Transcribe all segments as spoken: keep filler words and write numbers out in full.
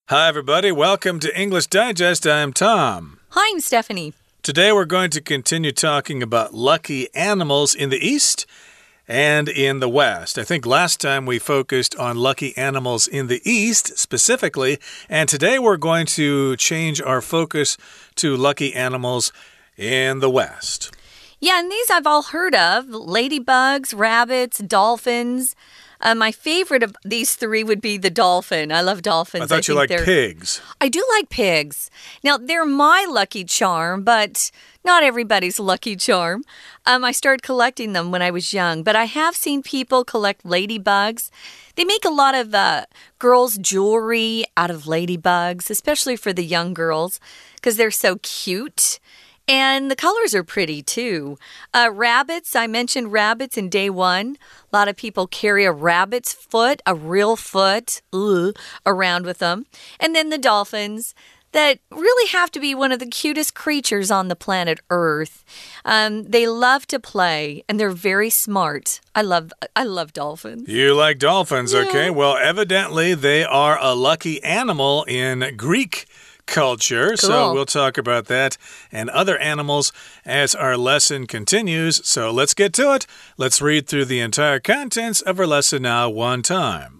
Hi, everybody. Welcome to English Digest. I'm Tom. Hi, I'm Stephanie. Today we're going to continue talking about lucky animals in the East and in the West. I think last time we focused on lucky animals in the East specifically, and today we're going to change our focus to lucky animals in the West. Yeah, and these I've all heard of. Ladybugs, rabbits, dolphins. Uh, my favorite of these three would be the dolphin. I love dolphins. I thought I you liked pigs. I do like pigs. Now, they're my lucky charm, but not everybody's lucky charm. Um, I started collecting them when I was young, but I have seen people collect ladybugs. They make a lot of uh, girls' jewelry out of ladybugs, especially for the young girls, because they're so cute. And the colors are pretty, too. Uh, rabbits, I mentioned rabbits in day one. A lot of people carry a rabbit's foot, a real foot, ugh, around with them. And then the dolphins that really have to be one of the cutest creatures on the planet Earth. Um, they love to play, and they're very smart. I love, I love dolphins. You like dolphins, yeah. Okay. Well, evidently they are a lucky animal in Greek culture. Cool. So we'll talk about that and other animals as our lesson continues. So let's get to it. Let's read through the entire contents of our lesson now one time.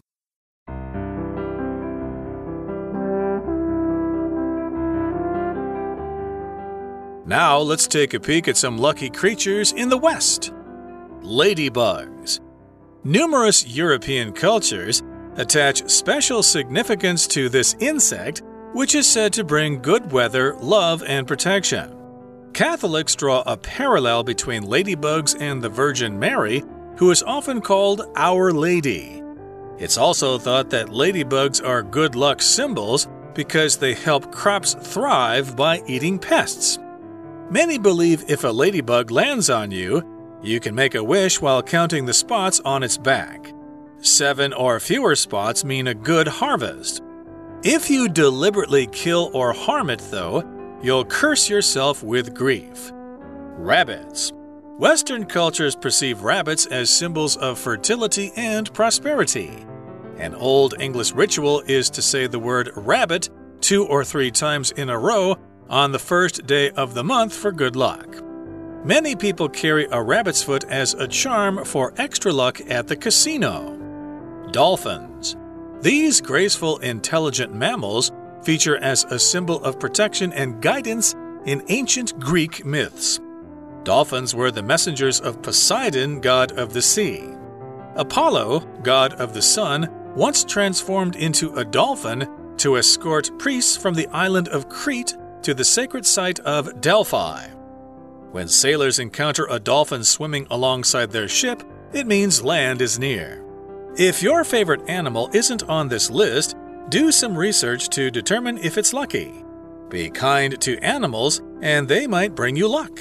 Now let's take a peek at some lucky creatures in the West. Ladybugs. Numerous European cultures attach special significance to this insect, which is said to bring good weather, love, and protection. Catholics draw a parallel between ladybugs and the Virgin Mary, who is often called Our Lady. It's also thought that ladybugs are good luck symbols because they help crops thrive by eating pests. Many believe if a ladybug lands on you, you can make a wish while counting the spots on its back. Seven or fewer spots mean a good harvest. If you deliberately kill or harm it, though, you'll curse yourself with grief. Rabbits. Western cultures perceive rabbits as symbols of fertility and prosperity. An Old English ritual is to say the word rabbit two or three times in a row on the first day of the month for good luck. Many people carry a rabbit's foot as a charm for extra luck at the casino. Dolphins. These graceful, intelligent mammals feature as a symbol of protection and guidance in ancient Greek myths. Dolphins were the messengers of Poseidon, god of the sea. Apollo, god of the sun, once transformed into a dolphin to escort priests from the island of Crete to the sacred site of Delphi. When sailors encounter a dolphin swimming alongside their ship, it means land is near. If your favorite animal isn't on this list, do some research to determine if it's lucky. Be kind to animals, and they might bring you luck.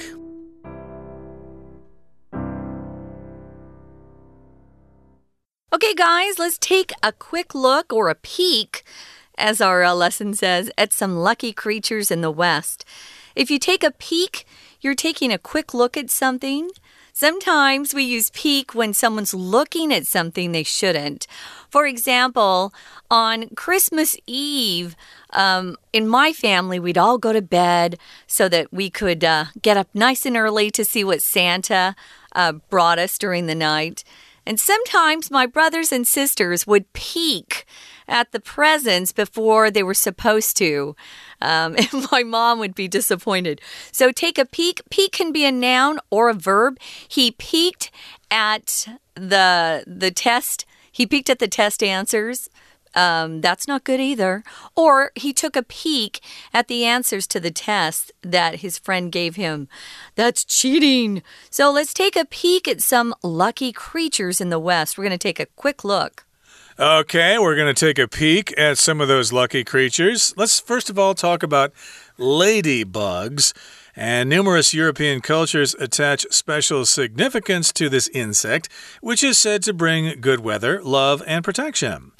Okay, guys, let's take a quick look or a peek, as our uh, lesson says, at some lucky creatures in the West. If you take a peek, you're taking a quick look at something. Sometimes we use peek when someone's looking at something they shouldn't. For example, on Christmas Eve, um, in my family, we'd all go to bed so that we could uh, get up nice and early to see what Santa uh, brought us during the night. And sometimes my brothers and sisters would peek at the presents before they were supposed to. Um, and my mom would be disappointed. So take a peek. Peek can be a noun or a verb. He peeked at the, the test. He peeked at the test answers. Um, that's not good either. Or he took a peek at the answers to the test that his friend gave him. That's cheating. So let's take a peek at some lucky creatures in the West. We're going to take a quick look. Okay, we're going to take a peek at some of those lucky creatures. Let's first of all talk about ladybugs. And numerous European cultures attach special significance to this insect, which is said to bring good weather, love, and protection.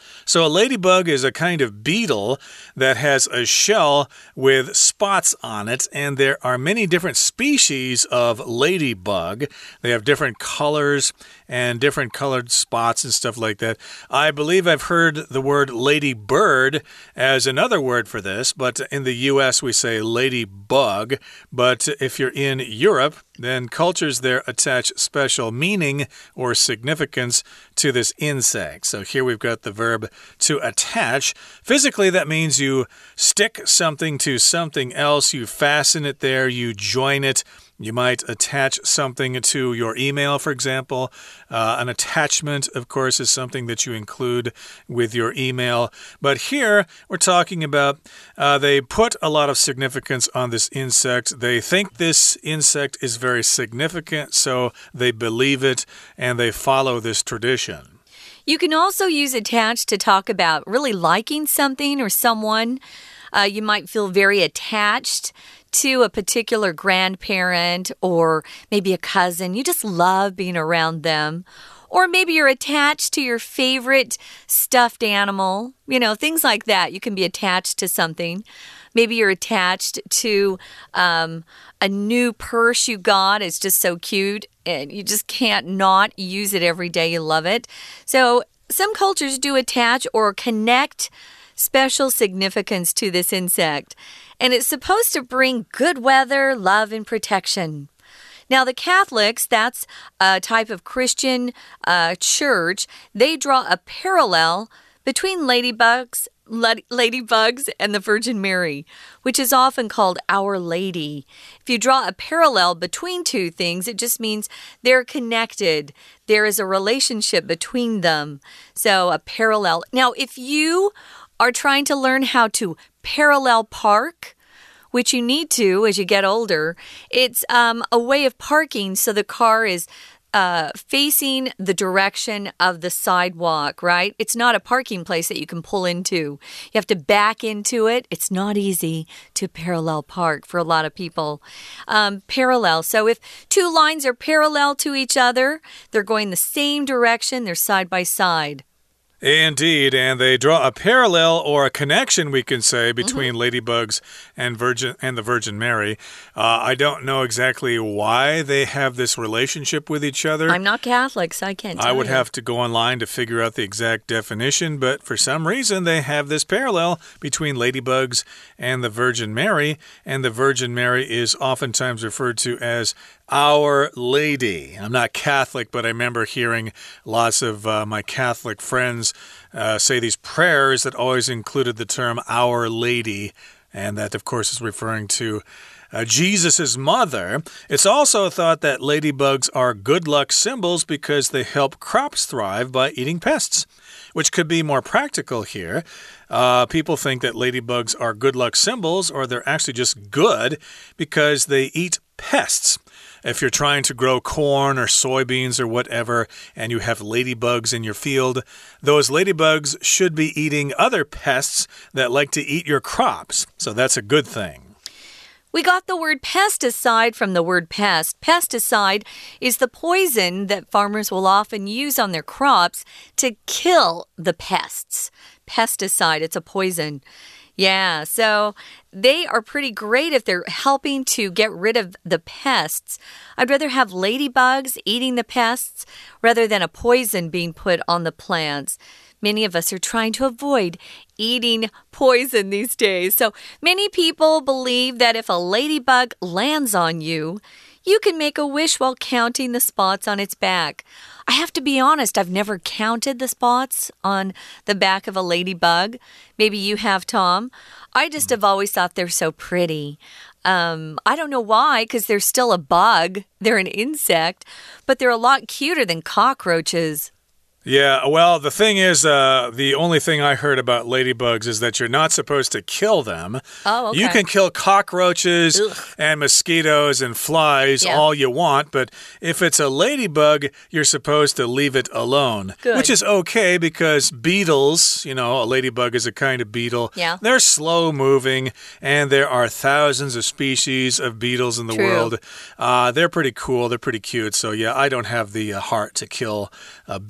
So a ladybug is a kind of beetle that has a shell with spots on it, and there are many different species of ladybug. They have different colors and different colored spots and stuff like that. I believe I've heard the word ladybird as another word for this, but in the U S we say ladybug. But if you're in Europe, then cultures there attach special meaning or significance to this insect. So here we've got the verb to attach. Physically, that means you stick something to something else, you fasten it there, you join it. You might attach something to your email, for example. Uh, an attachment, of course, is something that you include with your email. But here, we're talking about uh, they put a lot of significance on this insect. They think this insect is very significant, so they believe it, and they follow this tradition. You can also use attach to talk about really liking something or someone. Uh, you might feel very attached to a particular grandparent or maybe a cousin. You just love being around them. Or maybe you're attached to your favorite stuffed animal. You know, things like that. You can be attached to something. Maybe you're attached to um, a new purse you got. It's just so cute, and you just can't not use it every day. You love it. So some cultures do attach or connect special significance to this insect, and it's supposed to bring good weather, love, and protection. Now, the Catholics, that's a type of Christian uh, church, they draw a parallel between ladybugs, ladybugs and the Virgin Mary, which is often called Our Lady. If you draw a parallel between two things, it just means they're connected. There is a relationship between them. So, a parallel. Now, if you are trying to learn how to parallel park, which you need to as you get older, it's um, a way of parking so the car is uh, facing the direction of the sidewalk, right? It's not a parking place that you can pull into. You have to back into it. It's not easy to parallel park for a lot of people. Um, parallel. So if two lines are parallel to each other, they're going the same direction, they're side by side. Indeed, and they draw a parallel or a connection, we can say, between mm-hmm. ladybugs and Virgin and the Virgin Mary. Uh, I don't know exactly why they have this relationship with each other. I'm not Catholic, so I can't tell I would you. have to go online to figure out the exact definition, but for some reason they have this parallel between ladybugs and the Virgin Mary, and the Virgin Mary is oftentimes referred to as Our Lady. I'm not Catholic, but I remember hearing lots of uh, my Catholic friends uh, say these prayers that always included the term Our Lady, and that, of course, is referring to Uh, Jesus' mother. It's also thought that ladybugs are good luck symbols because they help crops thrive by eating pests, which could be more practical here. Uh, people think that ladybugs are good luck symbols, or they're actually just good because they eat pests. If you're trying to grow corn or soybeans or whatever, and you have ladybugs in your field, those ladybugs should be eating other pests that like to eat your crops. So that's a good thing. We got the word pesticide from the word pest. Pesticide is the poison that farmers will often use on their crops to kill the pests. Pesticide, it's a poison. Yeah, so they are pretty great if they're helping to get rid of the pests. I'd rather have ladybugs eating the pests rather than a poison being put on the plants. Many of us are trying to avoid eating poison these days. So many people believe that if a ladybug lands on you, you can make a wish while counting the spots on its back. I have to be honest, I've never counted the spots on the back of a ladybug. Maybe you have, Tom. I just have always thought they're so pretty. Um, I don't know why, because they're still a bug. They're an insect, but they're a lot cuter than cockroaches. Yeah, well, the thing is, uh, the only thing I heard about ladybugs is that you're not supposed to kill them. Oh, okay. You can kill cockroaches Ugh. and mosquitoes and flies yeah. all you want, but if it's a ladybug, you're supposed to leave it alone. Good. Which is okay because beetles, you know, a ladybug is a kind of beetle. Yeah. They're slow-moving, and there are thousands of species of beetles in the True. world. Uh, they're pretty cool. They're pretty cute. So, yeah, I don't have the uh, heart to kill uh, beetles or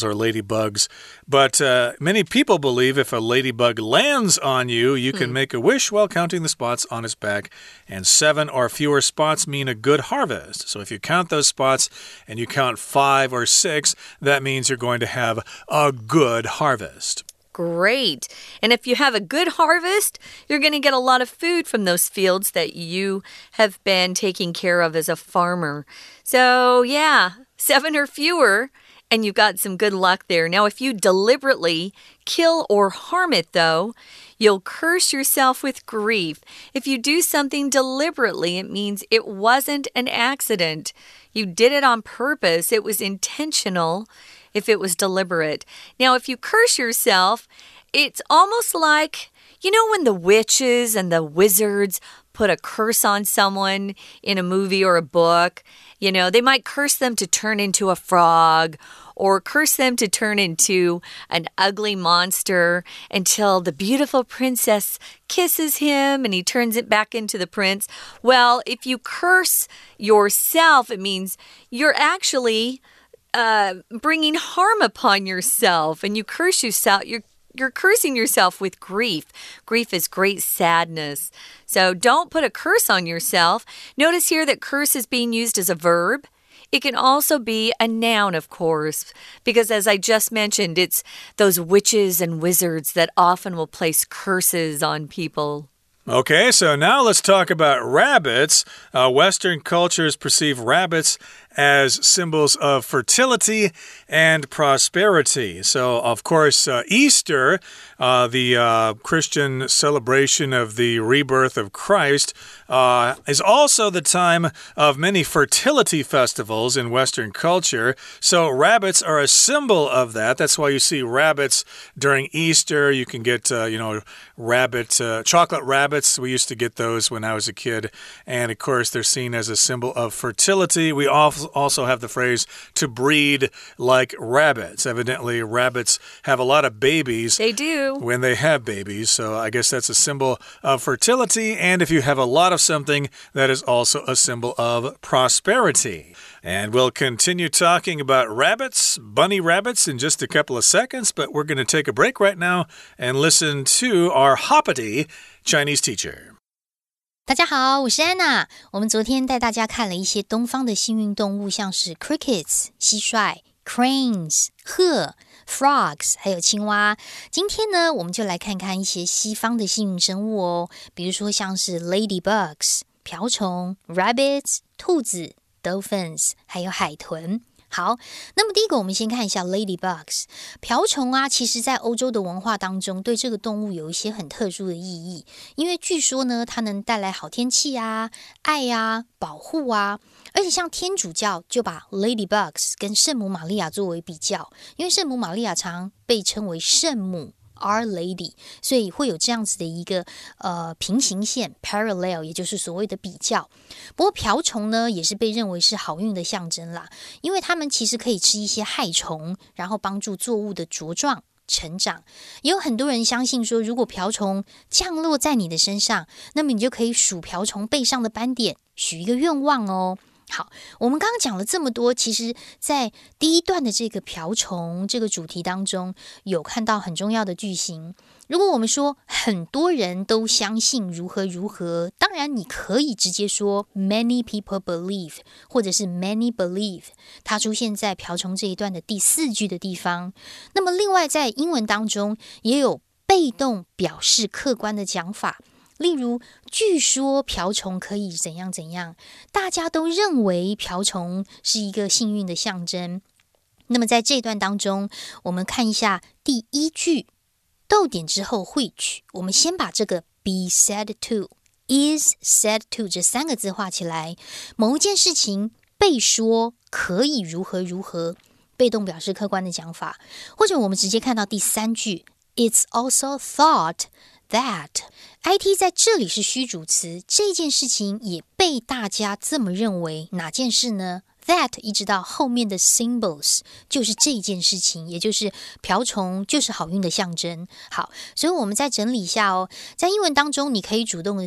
or ladybugs. But uh, many people believe if a ladybug lands on you, you can mm. make a wish while counting the spots on its back. And seven or fewer spots mean a good harvest. So if you count those spots and you count five or six, that means you're going to have a good harvest. Great. And if you have a good harvest, you're going to get a lot of food from those fields that you have been taking care of as a farmer. So, yeah, seven or fewer, and you got some good luck there. Now, if you deliberately kill or harm it, though, you'll curse yourself with grief. If you do something deliberately, it means it wasn't an accident. You did it on purpose. It was intentional. If it was deliberate. Now, if you curse yourself, it's almost like, you know, when the witches and the wizards put a curse on someone in a movie or a book, you know, they might curse them to turn into a frog or curse them to turn into an ugly monster until the beautiful princess kisses him and he turns it back into the prince. Well, if you curse yourself, it means you're actually Uh, bringing harm upon yourself, and you curse yourself. You're you're cursing yourself with grief. Grief is great sadness. So don't put a curse on yourself. Notice here that curse is being used as a verb. It can also be a noun, of course, because as I just mentioned, it's those witches and wizards that often will place curses on people. Okay, so now let's talk about rabbits. Uh, Western cultures perceive rabbits as symbols of fertility and prosperity. So, of course, uh, Easter, uh, the uh, Christian celebration of the rebirth of Christ, uh, is also the time of many fertility festivals in Western culture. So, rabbits are a symbol of that. That's why you see rabbits during Easter. You can get, uh, you know, rabbit, uh, chocolate rabbits. We used to get those when I was a kid. And, of course, they're seen as a symbol of fertility. We also also have the phrase to breed like rabbits. Evidently, rabbits have a lot of babies. They do. When they have babies. So I guess that's a symbol of fertility. And if you have a lot of something, that is also a symbol of prosperity. And we'll continue talking about rabbits, bunny rabbits, in just a couple of seconds. But we're going to take a break right now and listen to our hoppity Chinese teacher. 大家好，我是安娜。我们昨天带大家看了一些东方的幸运动物，像是 crickets 蟋蟀、cranes 鹤、frogs 还有青蛙。今天呢，我们就来看看一些西方的幸运生物哦，比如说像是 ladybugs 瓢虫、rabbits 兔子、dolphins 还有海豚。好，那麼第一個我們先看一下 ladybugs 瓢蟲啊，其實在歐洲的文化當中，對這個動物有一些很特殊的意義，因為據說呢，它能帶來好天氣啊、愛啊、保護啊，而且像天主教就把 ladybugs 跟聖母瑪利亞作為比較，因為聖母瑪利亞常被稱為聖母Our Lady， 所以會有這樣子的一個呃平行線 parallel， 也就是所謂的比較。不過瓢蟲呢，也是被認為是好運的象徵啦，因為它們其實可以吃一些害蟲，然後幫助作物的茁壯成長。也有很多人相信說，如果瓢蟲降落在你的身上，那麼你就可以數瓢蟲背上的斑點，許一個願望哦。好，我們剛剛講了這麼多，其實在第一段的這個瓢蟲這個主題當中，有看到很重要的句型。如果我們說很多人都相信如何如何，當然你可以直接說 many people believe， 或者是 many believe， 它出現在瓢蟲這一段的第四句的地方。那麼另外在英文當中也有被動表示客觀的講法。例如，據說瓢蟲可以怎樣怎樣，大家都認為瓢蟲是一個幸運的象徵。那麼在這段當中，我們看一下第一句，逗點之後 which， 我們先把這個 be said to、is said to 這三個字畫起來。某一件事情被說可以如何如何，被動表示客觀的講法。或者我們直接看到第三句 ，It's also thought that I T 在這裡是虛主詞，這件事情也被大家這麼認為。哪件事呢？ That 一直到後面的 symbols 就是這件事情，也就是瓢蟲就是好運的象徵。好，所以我們再整理一下哦。在英文當中，你可以主動的講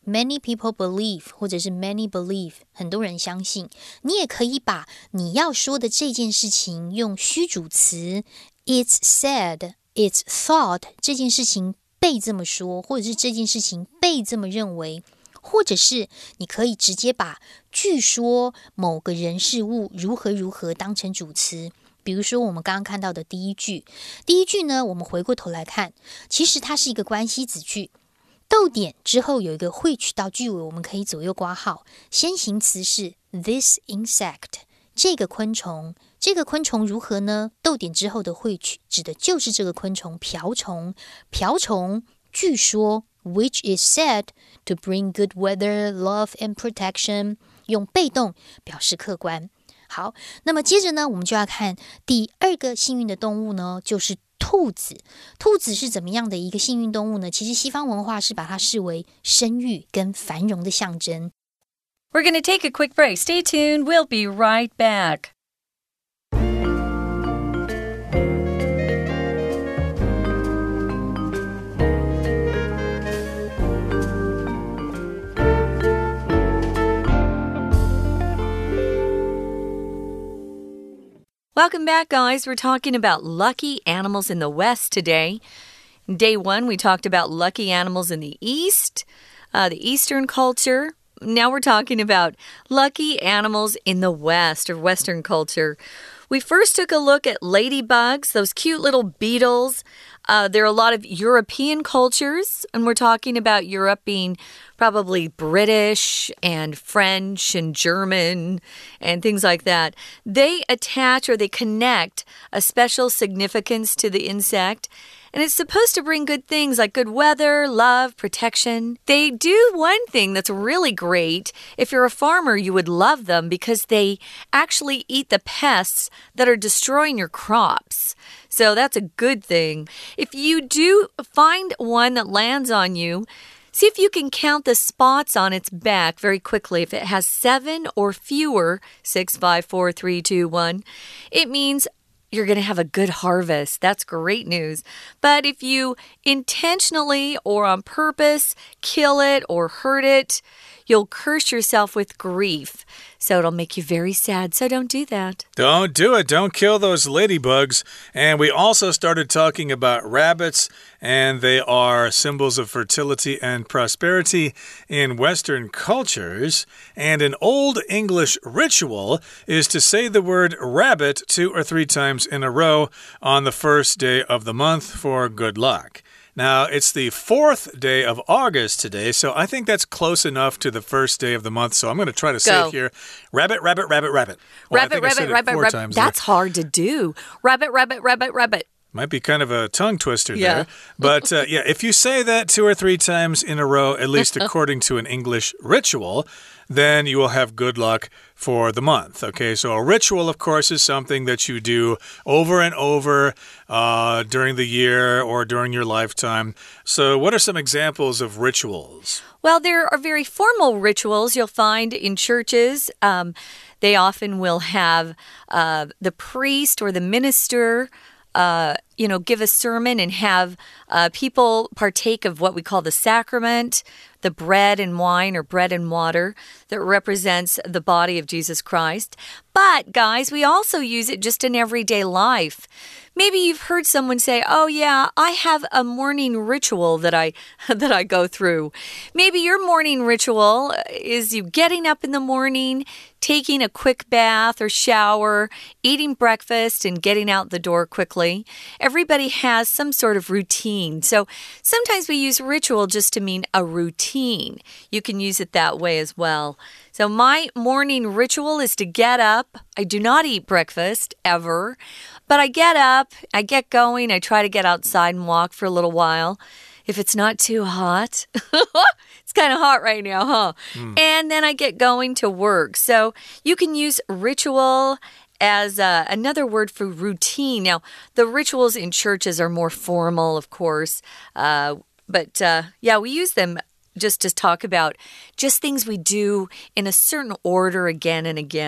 many people believe 或者是 many believe 很多人相信。你也可以把你要說的這件事情用虛主詞 it's said, it's thought 這件事情被這麼說，或者是這件事情被這麼認為，或者是你可以直接把據說某個人事物如何如何當成主詞。比如說我們剛剛看到的第一句，第一句呢，我們回過頭來看，其實它是一個關係子句，逗點之後有一個 which 到句尾，我們可以左右括號。先行詞是 this insect， 這個昆蟲，這個昆蟲如何呢？逗點之後的 which 指的就是這個昆蟲瓢蟲，瓢蟲據說 which is said to bring good weather, love and protection， 用被動表示客觀。好，那麼接着呢，我們就要看第二個幸運的動物呢，就是兔子。兔子是怎麼樣的一個幸運動物呢？其實西方文化是把它視為生育跟繁榮的象徵。 We're going to take a quick break. Stay tuned. We'll be right back. Welcome back, guys. We're talking about lucky animals in the West today. Day one, we talked about lucky animals in the East, uh, the Eastern culture. Now we're talking about lucky animals in the West, or Western culture. We first took a look at ladybugs, those cute little beetles. Uh, there are a lot of European cultures, and we're talking about Europe being probably British and French and German and things like that. They attach or they connect a special significance to the insect, and it's supposed to bring good things like good weather, love, protection. They do one thing that's really great. If you're a farmer, you would love them because they actually eat the pests that are destroying your crops. So that's a good thing. If you do find one that lands on you, see if you can count the spots on its back very quickly. If it has seven or fewer, six, five, four, three, two, one, it means you're going to have a good harvest. That's great news. But if you intentionally or on purpose kill it or hurt it, you'll curse yourself with grief. So it'll make you very sad. So don't do that. Don't do it. Don't kill those ladybugs. And we also started talking about rabbits, and they are symbols of fertility and prosperity in Western cultures. And an Old English ritual is to say the word rabbit two or three times in a row on the first day of the month for good luck. Now, it's the fourth day of August today, so I think that's close enough to the first day of the month. So I'm going to try to say Go. it here. Rabbit, rabbit, rabbit, rabbit. Well, rabbit, rabbit, rabbit, rabbit. That's there. hard to do. Rabbit, rabbit, rabbit, rabbit. Might be kind of a tongue twister yeah. there. But uh, yeah, if you say that two or three times in a row, at least according to an English ritual, then you will have good luck for the month. Okay, so a ritual, of course, is something that you do over and over uh, during the year or during your lifetime. So what are some examples of rituals? Well, there are very formal rituals you'll find in churches. Um, they often will have uh, the priest or the minister Uh, you know, give a sermon and have uh, people partake of what we call the sacrament, the bread and wine or bread and water that represents the body of Jesus Christ. But, guys, we also use it just in everyday life. Maybe you've heard someone say, oh, yeah, I have a morning ritual that I that I go through. Maybe your morning ritual is you getting up in the morning, taking a quick bath or shower, eating breakfast, and getting out the door quickly. Everybody has some sort of routine. So sometimes we use ritual just to mean a routine. You can use it that way as well. So my morning ritual is to get up. I do not eat breakfast, ever. But I get up, I get going, I try to get outside and walk for a little while. If it's not too hot. It's kind of hot right now, huh? Mm. And then I get going to work. So you can use ritual as uh, another word for routine. Now, the rituals in churches are more formal, of course. Uh, but uh, yeah, we use them just to talk about just things we do in a certain order again and again.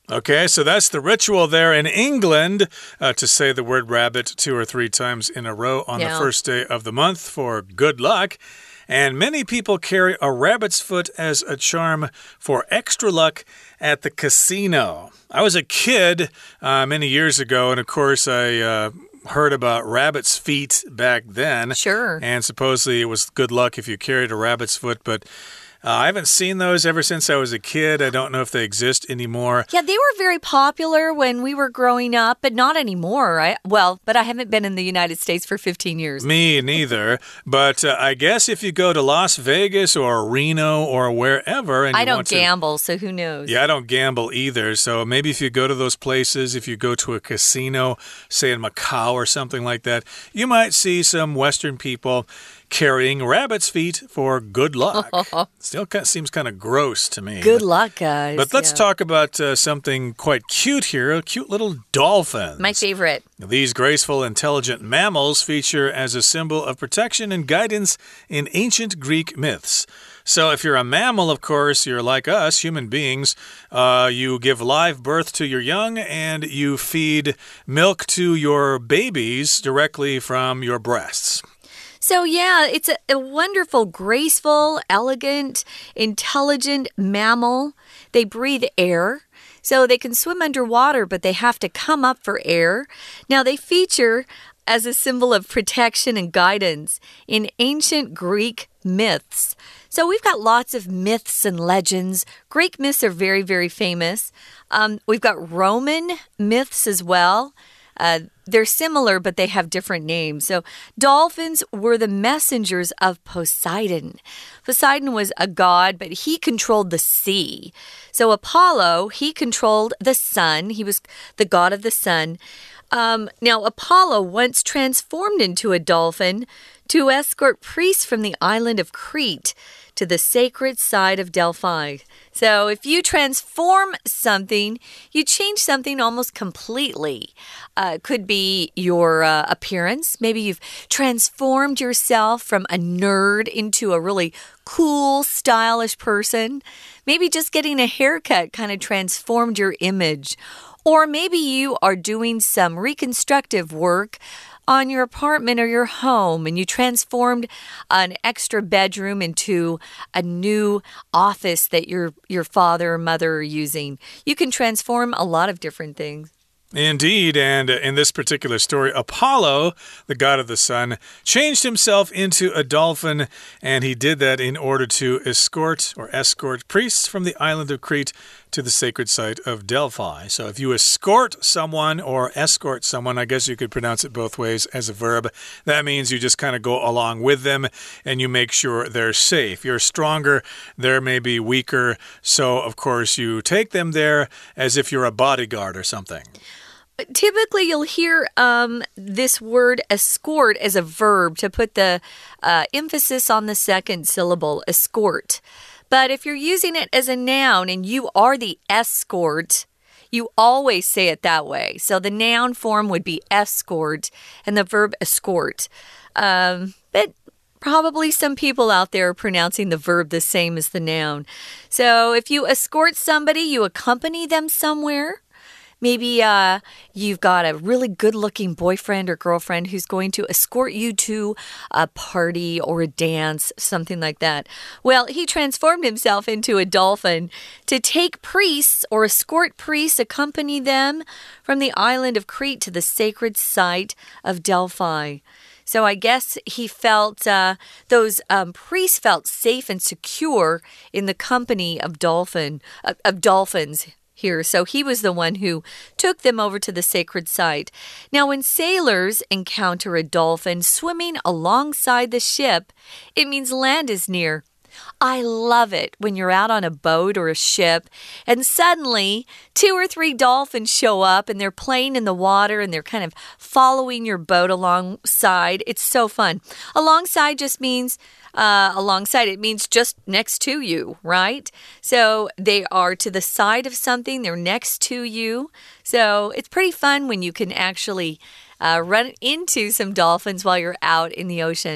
Okay, so that's the ritual there in England uh, to say the word rabbit two or three times in a row on yeah. the first day of the month for good luck. And many people carry a rabbit's foot as a charm for extra luck at the casino. I was a kid uh, many years ago, and of course, I uh, heard about rabbit's feet back then. Sure. And supposedly it was good luck if you carried a rabbit's foot, but Uh, I haven't seen those ever since I was a kid. I don't know if they exist anymore. Yeah, they were very popular when we were growing up, but not anymore, right? Well, but I haven't been in the United States for fifteen years. Me neither. But uh, I guess if you go to Las Vegas or Reno or wherever and you I don't want gamble, to, so who knows? Yeah, I don't gamble either. So maybe if you go to those places, if you go to a casino, say in Macau or something like that, you might see some Western people carrying rabbit's feet for good luck. Still kind of seems kind of gross to me. Good but, luck, guys. But let's yeah. talk about uh, something quite cute here, cute little dolphins. My favorite. These graceful, intelligent mammals feature as a symbol of protection and guidance in ancient Greek myths. So if you're a mammal, of course, you're like us, human beings. Uh, you give live birth to your young and you feed milk to your babies directly from your breasts. So, yeah, it's a, a wonderful, graceful, elegant, intelligent mammal. They breathe air, so they can swim underwater, but they have to come up for air. Now, they feature as a symbol of protection and guidance in ancient Greek myths. So we've got lots of myths and legends. Greek myths are very, very famous. Um, we've got Roman myths as well. Uh, they're similar, but they have different names. So dolphins were the messengers of Poseidon. Poseidon was a god, but he controlled the sea. So Apollo, he controlled the sun. He was the god of the sun. Um, now, Apollo once transformed into a dolphin to escort priests from the island of Crete to the sacred site of Delphi. So if you transform something, you change something almost completely. Uh, it could be your uh, appearance. Maybe you've transformed yourself from a nerd into a really cool, stylish person. Maybe just getting a haircut kind of transformed your image. Or maybe you are doing some reconstructive work on your apartment or your home, and you transformed an extra bedroom into a new office that your, your father or mother are using. You can transform a lot of different things. Indeed, and in this particular story, Apollo, the god of the sun, changed himself into a dolphin, and he did that in order to escort or escort priests from the island of Crete to the sacred site of Delphi. So if you escort someone or escort someone, I guess you could pronounce it both ways as a verb. That means you just kind of go along with them and you make sure they're safe. You're stronger, they're maybe weaker, so of course you take them there as if you're a bodyguard or something. Typically, you'll hear um, this word escort as a verb to put the uh, emphasis on the second syllable, escort. But if you're using it as a noun and you are the escort, you always say it that way. So the noun form would be escort and the verb escort. Um, but probably some people out there are pronouncing the verb the same as the noun. So if you escort somebody, you accompany them somewhere. Maybe uh, you've got a really good-looking boyfriend or girlfriend who's going to escort you to a party or a dance, something like that. Well, he transformed himself into a dolphin to take priests or escort priests, accompany them from the island of Crete to the sacred site of Delphi. So I guess he felt, uh, those um, priests felt safe and secure in the company of dolphin, uh, of dolphins. Here. So he was the one who took them over to the sacred site. Now, when sailors encounter a dolphin swimming alongside the ship, it means land is near. I love it when you're out on a boat or a ship and suddenly two or three dolphins show up and they're playing in the water and they're kind of following your boat alongside. It's so fun. Alongside just means uh, alongside. It means just next to you, right? So they are to the side of something. They're next to you. So it's pretty fun when you can actually uh, run into some dolphins while you're out in the ocean.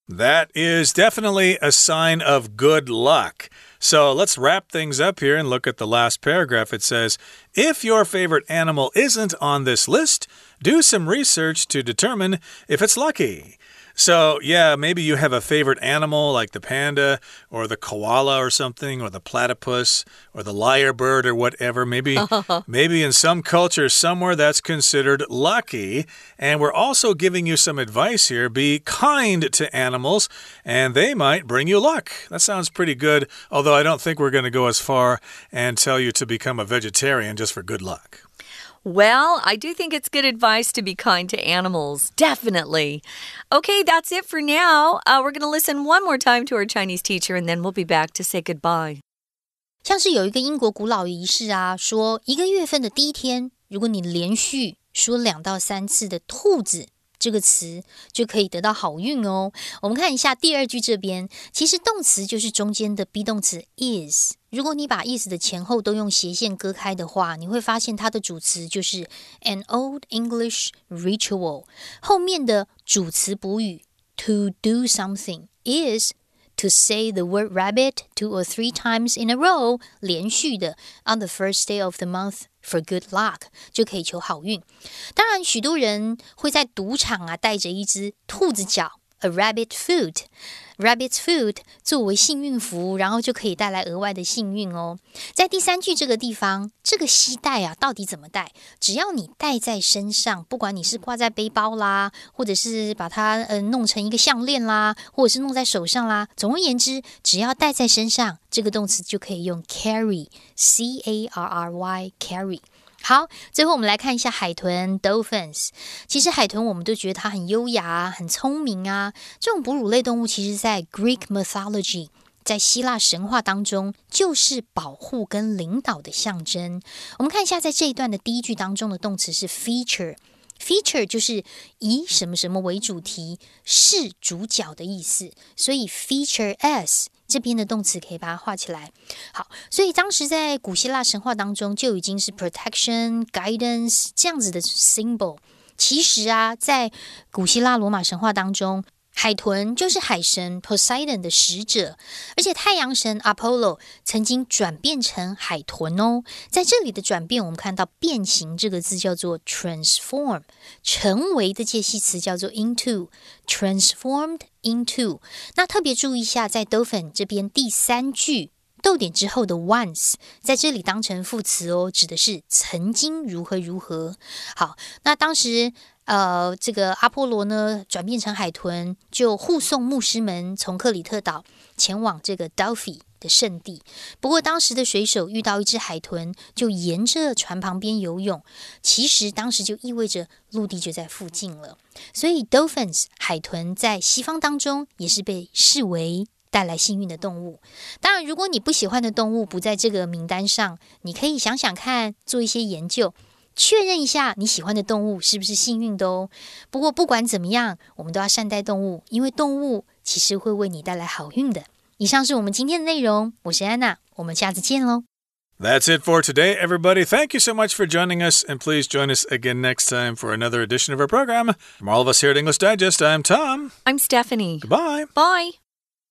That is definitely a sign of good luck. So let's wrap things up here and look at the last paragraph. It says, if your favorite animal isn't on this list, do some research to determine if it's lucky. So, yeah, maybe you have a favorite animal like the panda or the koala or something, or the platypus or the lyrebird or whatever. Maybe, maybe in some culture somewhere that's considered lucky. And we're also giving you some advice here. Be kind to animals and they might bring you luck. That sounds pretty good, although I don't think we're going to go as far and tell you to become a vegetarian just for good luck. Well, I do think it's good advice to be kind to animals. Definitely. Okay, that's it for now. Uh, we're going to listen one more time to our Chinese teacher, and then we'll be back to say goodbye. 像是有一个英国古老仪式啊，说一个月份的第一天，如果你连續說兩到三次的兔子這個詞就可以得到好運哦。我們看一下第二句這邊，其實動詞就是中間的 be 動詞 is。如果你把 is 的前後都用斜線割開的話，你會發現它的主詞就是 an old English ritual。後面的主詞補語 to do something is to say the word rabbit two or three times in a row， 連續的 on the first day of the month。For good luck 就可以求好運。當然許多人會在賭場啊帶着一隻兔子腳 a rabbit foot rabbit foot 作為幸運符，然後就可以帶來額外的幸運哦。在第三句這個地方，這個攜帶啊到底怎麼帶？只要你帶在身上，不管你是掛在背包啦，或者是把它呃弄成一個項鏈啦，或者是弄在手上啦，總而言之，只要帶在身上，這個動詞就可以用 carry C A R R Y carry。好，最後我們來看一下海豚 dolphins。其實海豚我們都覺得它很優雅很聰明啊。這種哺乳類動物其實在 Greek mythology 在希臘神話當中就是保護跟領導的象徵。我們看一下在這一段的第一句當中的動詞是 feature。Feature 就是以什麼什麼為主題，是主角的意思，所以 feature as 這邊的動詞可以把它畫起來。好，所以當時在古希臘神話當中就已經是 protection guidance 這樣子的 symbol。其實啊，在古希臘羅馬神話當中，海豚就是海神 Poseidon 的使者，而且太陽神 Apollo 曾經轉變成海豚哦。在這裡的轉變，我們看到變形這個字叫做 transform， 成為的介系詞叫做 into， transformed into。那特別注意一下，在 dolphin 這邊第三句逗點之後的 once 在這裡當成副詞哦，指的是曾經如何如何。好，那當時呃，這個阿波羅呢轉變成海豚，就護送牧師們從克里特島前往這個 Delphi 的聖地。不過當時的水手遇到一隻海豚，就沿着船旁邊游泳，其實當時就意味着陸地就在附近了。所以 Dolphins 海豚在西方當中也是被視為帶來幸運的動物。當然，如果你不喜歡的動物不在這個名單上，你可以想想看，做一些研究，確認一下你喜歡的動物是不是幸運的哦。不過不管怎麼樣，我們都要善待動物，因為動物其實會為你帶來好運的。以上是我們今天的內容，我是安娜，我們下次見嘍。 That's it for today, everybody. Thank you so much for joining us, and please join us again next time for another edition of our program. From all of us here at English Digest, I'm Tom. I'm Stephanie. Goodbye. Bye.